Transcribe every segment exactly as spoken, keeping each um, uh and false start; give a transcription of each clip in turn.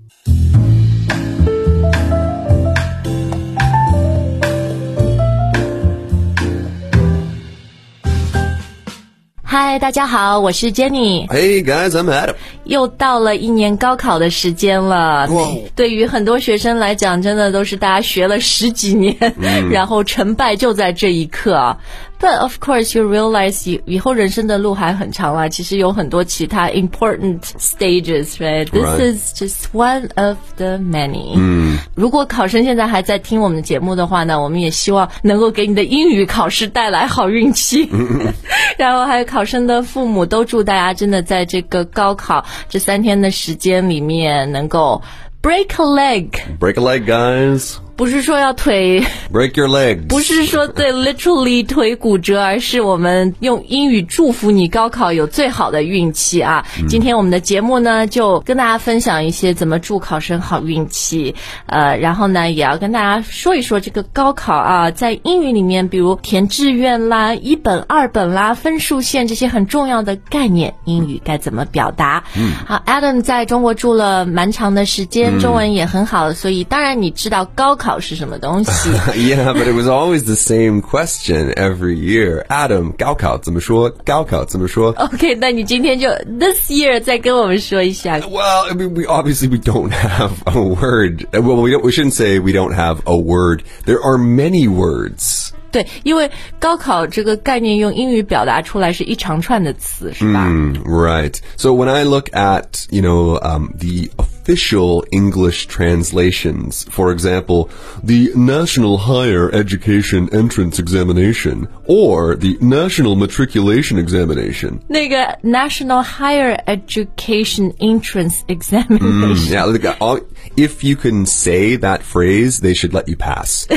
嗨，大家好，我是 Jenny。 Hey guys, I'm Adam。 又到了一年高考的时间了，对于很多学生来讲，真的都是大家学了十几年、嗯、然后成败就在这一刻啊。But of course you realize 以后人生的路还很长啦，其实有很多其他 important stages, right? This Right. is just one of the many. 嗯， 如果考生现在还在听我们的节目的话呢，我们也希望能够给你的英语考试带来好运气。然后还有考生的父母都祝大家真的在这个高考这三天的时间里面能够 break a leg. Break a leg, guys. 不是说要腿 break your legs. 不是说对 literally 腿骨折，而是我们用英语祝福你高考有最好的运气啊、嗯、今天我们的节目呢就跟大家分享一些怎么祝考生好运气，呃，然后呢也要跟大家说一说这个高考啊，在英语里面比如填志愿啦、一本二本啦、分数线这些很重要的概念，英语该怎么表达。嗯，好 Adam 在中国住了蛮长的时间、嗯、中文也很好，所以当然你知道高考考是什么东西。 Yeah, but it was always the same question every year. Adam, 高考怎么说？高考怎么说？ OK, 那你今天就 this year 再跟我们说一下。 Well, I mean, we obviously we don't have a word. Well, we don't, we shouldn't say we don't have a word. There are many words. 对，因为高考这个概念用英语表达出来是一长串的词，是吧？ Mm, right. So when I look at, you know, um, the official English translations, for example, the National Higher Education Entrance Examination or the National Matriculation Examination. 那个 National Higher Education Entrance Examination. Mm, yeah, look, all, if you can say that phrase, they should let you pass.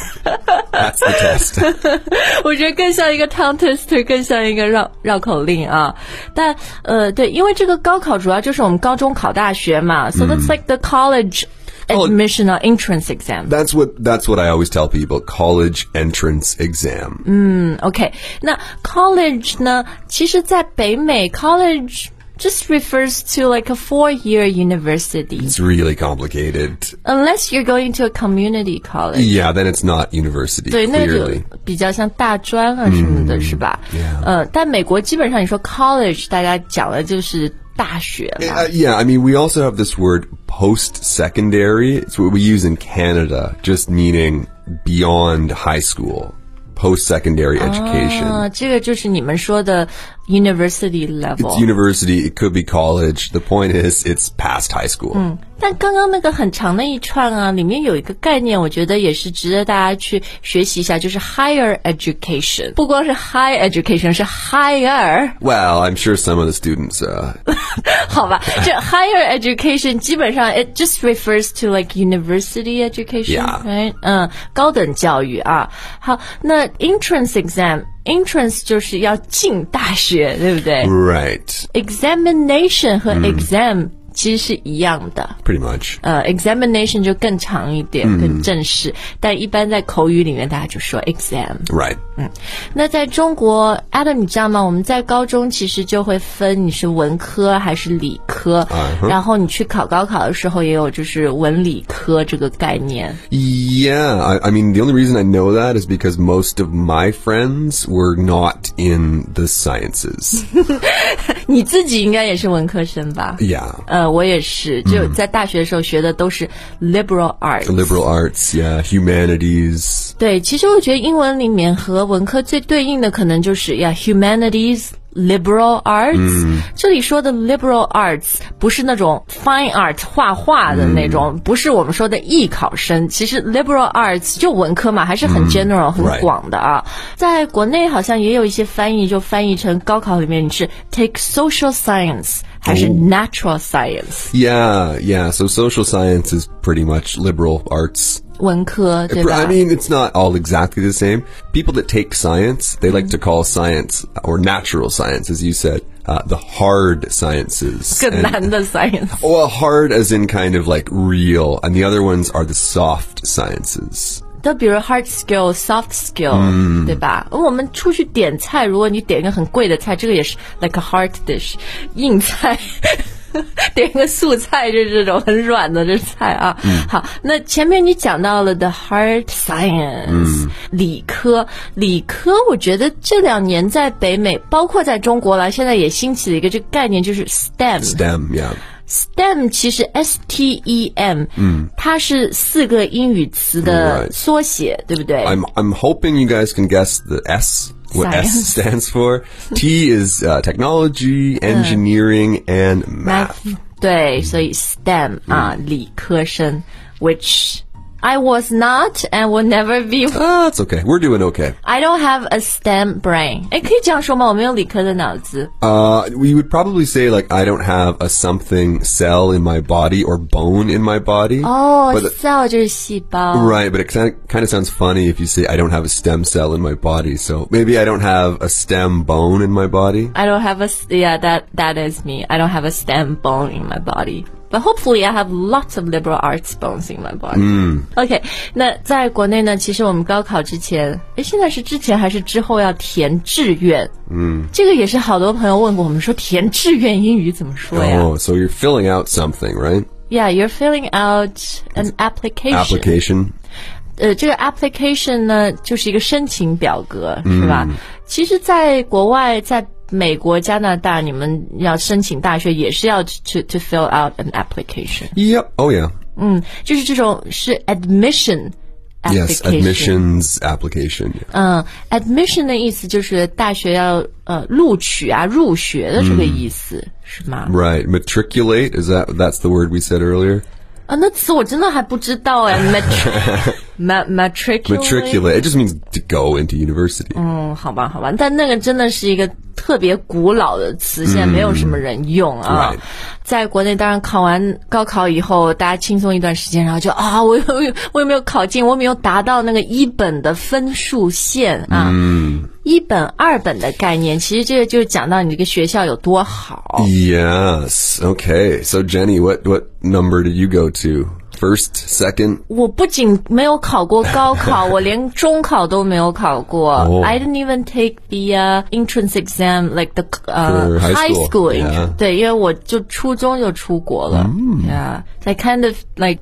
That's the test. 我觉得更像一个 tongue twister， 更像一个绕绕口令啊。但呃，对，因为这个高考主要就是我们高中考大学嘛、嗯、，so that's like the college admission or entrance exam. That's what that's what I always tell people. College entrance exam. 嗯 ，OK， 那 college 呢？其实，在北美 college just refers to like a four-year university. It's really complicated. Unless you're going to a community college. Yeah, then it's not university. 对， clearly. 那就比较像大专啊什么的， mm, 是吧？ Yeah. 呃，但美国基本上你说 college， 大家讲的就是大学了。 Uh, yeah, I mean, we also have this word post-secondary. It's what we use in Canada, just meaning beyond high school.Post-secondary education. 啊，这个就是你们说的 university level. It's university, it could be college. The point is, it's past high school. 嗯，但刚刚那个很长的一串啊，里面有一个概念，我觉得也是值得大家去学习一下，就是 higher education. 不光是 high education， 是 higher. Well, I'm sure some of the students, uh... 好吧，这 higher education 基本上 it just refers to like university education, yeah. right? 嗯，高等教育啊。好，那 entrance exam, entrance 就是要进大学，对不对？ Right. Examination 和 exam、嗯其实是一样的 Pretty much. 呃 examination 就更长一点、嗯、更正式，但一般在口语里面大家就说 exam. Right. 嗯，那在中国 Adam 你知道吗，我们在高中其实就会分你是文科还是理科、uh-huh. 然后你去考高考的时候也有就是文理科这个概念。 Yeah, I, I mean the only reason I know that is because most of my friends were not in the sciences. 你自己应该也是文科生吧？ Yeah. 呃，我也是，就在大学的时候学的都是 liberal arts. Liberal arts, yeah, humanities. 对，其实我觉得英文里面和文科最对应的可能就是呀 humanities。Liberal arts、嗯、这里说的 liberal arts 不是那种 fine art 画画的那种、嗯、不是我们说的艺考生，其实 liberal arts 就文科嘛，还是很 general、嗯、很广的啊。在国内好像也有一些翻译就翻译成高考里面你是 take social science还是 natural science、oh. Yeah, yeah, so social science is pretty much liberal arts. 文科对吧？ I mean, it's not all exactly the same. People that take science, they like to call science, or natural science, as you said, uh, the hard sciences. 更难的 science. Well, hard as in kind of like real, and the other ones are the soft sciences. 都比如 hard skill, soft skill、 嗯、 对吧？我们出去点菜，如果你点一个很贵的菜，这个也是 like a hard dish 硬菜点个素菜，就是这种很软的这菜啊。嗯、好，那前面你讲到了 the hard science，、嗯、理科，理科，我觉得这两年在北美，包括在中国来，现在也兴起了一个这个概念，就是 S T E M。STEM, yeah.STEM 其实 S T E M， 嗯，它是四个英语词的缩写， right. 对不对 I'm, I'm hoping you guys can guess the S, what Science. S stands for. T is uh, technology, engineering, and math. math 对，所以 STEM 啊，理科生 which I was not and will never be. Ah, it's okay. We're doing okay. I don't have a STEM brain. 诶，可以这样说吗？我没有理科的脑子。 Uh, we would probably say like I don't have a something cell in my body or bone in my body. Oh, but cell 就是细胞。 Right, but it kind of, kind of sounds funny if you say I don't have a stem cell in my body. So maybe I don't have a stem bone in my body. I don't have a, yeah, that, that is me. I don't have a stem bone in my body.But hopefully I have lots of liberal arts bones in my body. 嗯 OK, 那在国内呢，其实我们高考之前，诶，现在是之前还是之后要填志愿？嗯，这个也是好多朋友问过我们，说填志願英語怎麼說呀？ Oh, so you're filling out something, right? Yeah, you're filling out an application. Application. 呃，这个 application 呢，就是一个申請表格，是吧？嗯、其實在國外，在美國、加拿大，你們要申請大學也是要 to to fill out an application. Yep. Oh yeah. 嗯，就是这種是 admission application. Yes, admissions application. 嗯 ，admission 的意思就是大學要呃錄取啊、入學的這個意思，嗯、是嗎 ？Right. Matriculate, is that that's the word we said earlier? 啊，那词我真的还不知道哎。Matri- matriculate. Matriculate. It just means to go into university. 嗯，好吧，好吧，但那个真的是一个特别古老的词，现在没有什么人用啊。嗯、在国内，当然考完高考以后，大家轻松一段时间，然后就啊，我有我有没有考进？我有没有达到那个一本的分数线啊？嗯。一本、二本的概念，其实这个就是讲到你这个学校有多好。 Yes. Okay. So Jenny, what what number did you go to? First, second? 我不仅没有考过高考，我连中考都没有考过。Oh. I didn't even take the uh, entrance exam, like the uh, high school. High school yeah. 对，因为我就初中就出国了。Mm. Yeah, I kind of like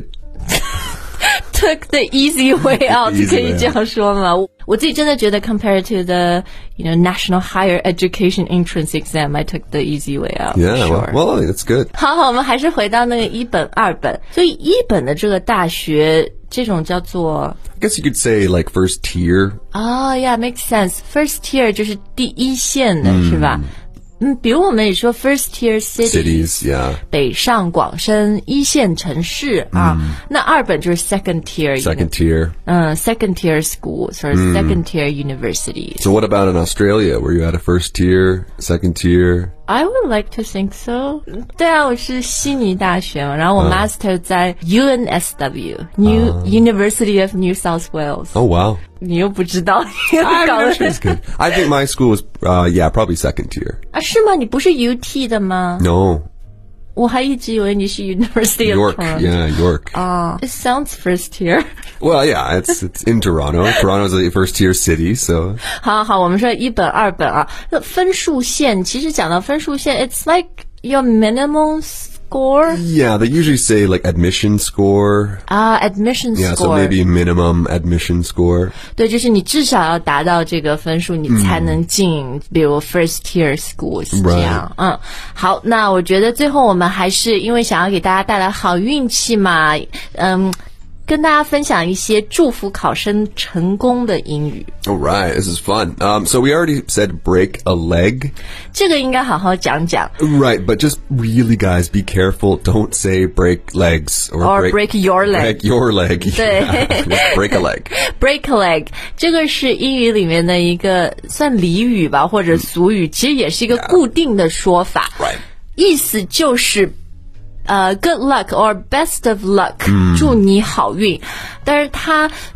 cheated.Took the easy way out, 可以这样说吗？我自己真的觉得 compared to the, you know, National Higher Education Entrance Exam, I took the easy way out. Yeah, sure. well, well, that's good. 好好，我们还是回到那个一本、二本。所以一本的这个大学，这种叫做 I guess you could say like first tier. Oh, yeah, makes sense. First tier 就是第一线的，嗯、是吧？嗯，比如我们也说 first tier cities, cities yeah. 北上广深一线城市啊。嗯、那二本就是 second tier, second tier, 嗯 second tier schools or、嗯、second tier universities. So what about in Australia? Were you at a first tier, second tier? I would like to think so. 对啊，我是悉尼大学嘛，然后我 master 在 U N S W、uh, New University of New South Wales. Oh wow. 你又不知道， I, good. I think my school was, uh, yeah, probably second tier. 啊，是吗？你不是 U T 的吗 ？No. 我还一直以为你是 University of York, yeah, York. 啊、uh, It sounds first tier. Well, yeah, it's it's in Toronto. Toronto's a first tier city, so. 好好，我们说一本、二本啊，分数线其实讲到分数线 ，it's like your minimum score. Yeah, they usually say like admission score. 啊、uh, ，admission yeah, score. Yeah, so maybe minimum admission score. 对，就是你至少要达到这个分数，你才能进，嗯、比如 first tier schools 这样。嗯，好，那我觉得最后我们还是因为想要给大家带来好运气嘛，嗯。跟大家分享一些祝福考生成功的英语。 All right, this is fun. Um, so we already said break a leg. 这个应该好好讲讲。 Right, but just really, guys, be careful. Don't say break legs or, or break, break your leg. Break your leg. 对 yeah, break a leg. Break a leg. 这个是英语里面的一个算俚语吧，或者俗语，其实也是一个固定的说法。 Right. 意思就是。呃、uh, ，good luck or best of luck，、嗯、祝你好运。但是它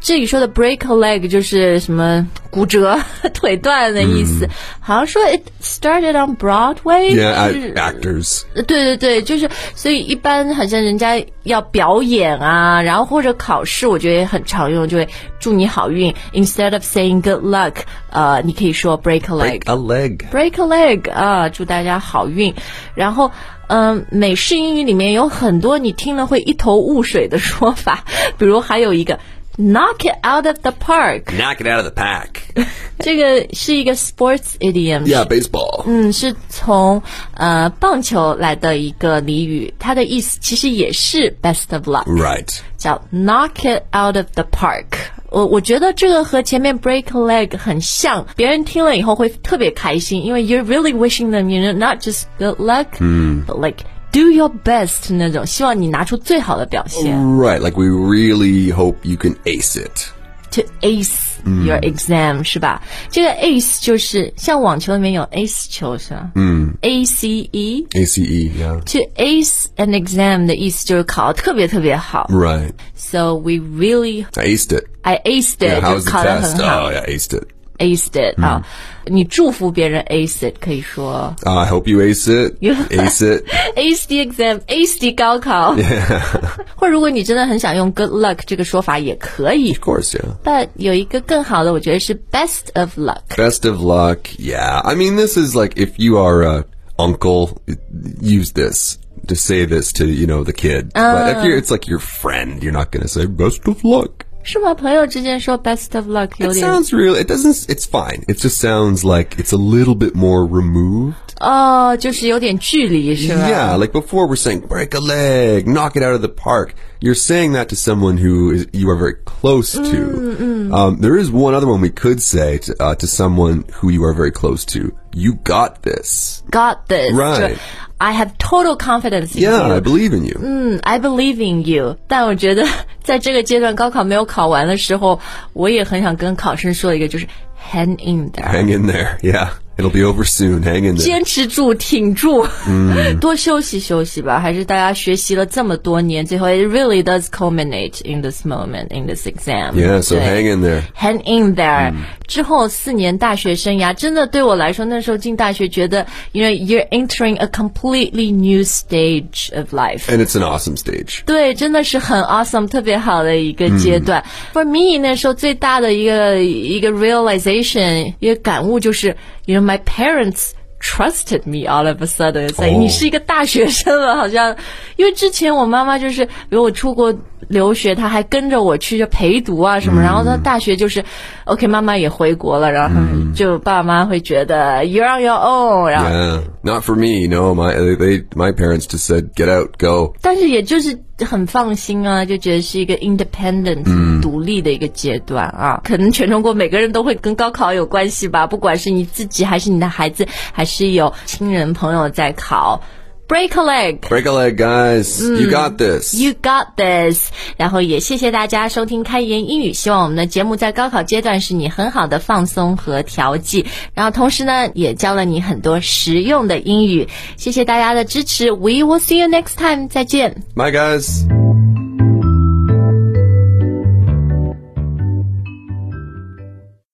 这里说的 break a leg 就是什么骨折腿断的意思、嗯、好像说 it started on Broadway Yeah, actors 对对对，就是所以一般好像人家要表演啊，然后或者考试我觉得也很常用，就会祝你好运 instead of saying good luck 呃，你可以说 break a leg break a leg break a leg 啊，祝大家好运。然后嗯，美式英语里面有很多你听了会一头雾水的说法，比如还有一个 knock it out of the park knock it out of the park 这个是一个 sports idiom Yeah, baseball 嗯，是从呃棒球来的一个俚语，它的意思其实也是 best of luck Right 叫 knock it out of the park我我觉得这个和前面 break a leg 很像，别人听了以后会特别开心，因为 you're really wishing them, you know, not just good luck, mm. but like do your best 那种，希望你拿出最好的表现。 Right, like we really hope you can ace it. To ace your exam、嗯、是吧？这个 ace 就是像网球里面有 ace 球是吧？ 嗯 A C E A C E, yeah. To ace an exam 的意思就是考得特别特别好。 Right. So we really I aced it. I aced it. Yeah, how was the 考得很 test? 好。 Oh, yeah, aced it. Aced it 啊、嗯，你祝福别人 ace it 可以说。 Uh, I hope you ace it. Ace it. Ace the exam, ace the 高考。 Yeah. 或者如果你真的很想用 good luck 这个说法也可以。 Of course, yeah. But 有一个更好的，我觉得是 best of luck. Best of luck, yeah. I mean, this is like if you are a uncle, use this. To say this to, you know, the kid. Uh, but if you're, it's like your friend, you're not going to say best of luck. 是吗？朋友之间说 best of luck 有 It 点 sounds real. It doesn't, it's fine. It just sounds like it's a little bit more removed. 哦，就是有点距离是吧？ Yeah, like before we're saying break a leg, knock it out of the park. You're saying that to someone who is, you are very close to. Mm, mm. Um, there is one other one we could say to, uh, to someone who you are very close to. You got this. Got this. Right. I have total confidence in yeah, you. I believe in you. 嗯 I believe in you. 但我觉得在这个阶段高考没有考完的时候，我也很想跟考生说一个，就是 hang in there. Hang in there, yeah. It'll be over soon. Hang in there. 坚持住，挺住， 嗯、 多休息休息吧。还是大家学习了这么多年，最后 it really does culminate in this moment, in this exam. Yeah, so hang in there. Hang in there. 嗯、 之后四年大学生涯，真的对我来说，那时候进大学觉得 you know, you're entering a completely new stage of life. And it's an awesome stage. 对，真的是很 awesome, 特别好的一个阶段。嗯、For me, 那时候最大的一个一个 realization, 一个感悟就是 you know, my parents trusted me all of a sudden. It's like、oh. 你是一个大学生了，好像因为之前我妈妈就是比如我出国留学，她还跟着我去就陪读啊什么、嗯、然后她大学就是 OK 妈妈也回国了，然后就爸妈会觉得 you're on your own. 然后 Yeah, not for me. No, my they my parents just said get out, go. 但是也就是很放心啊，就觉得是一个 independent、嗯、独立的一个阶段啊。可能全中国每个人都会跟高考有关系吧，不管是你自己还是你的孩子，还是有亲人朋友在考。Break a leg. Break a leg, guys. Mm, you got this. You got this. 然后也谢谢大家收听开言英语，希望我们的节目在高考阶段是你很好的放松和调剂，然后同时呢也教了你很多实用的英语。谢谢大家的支持。We will see you next time. 再见。 Bye, guys.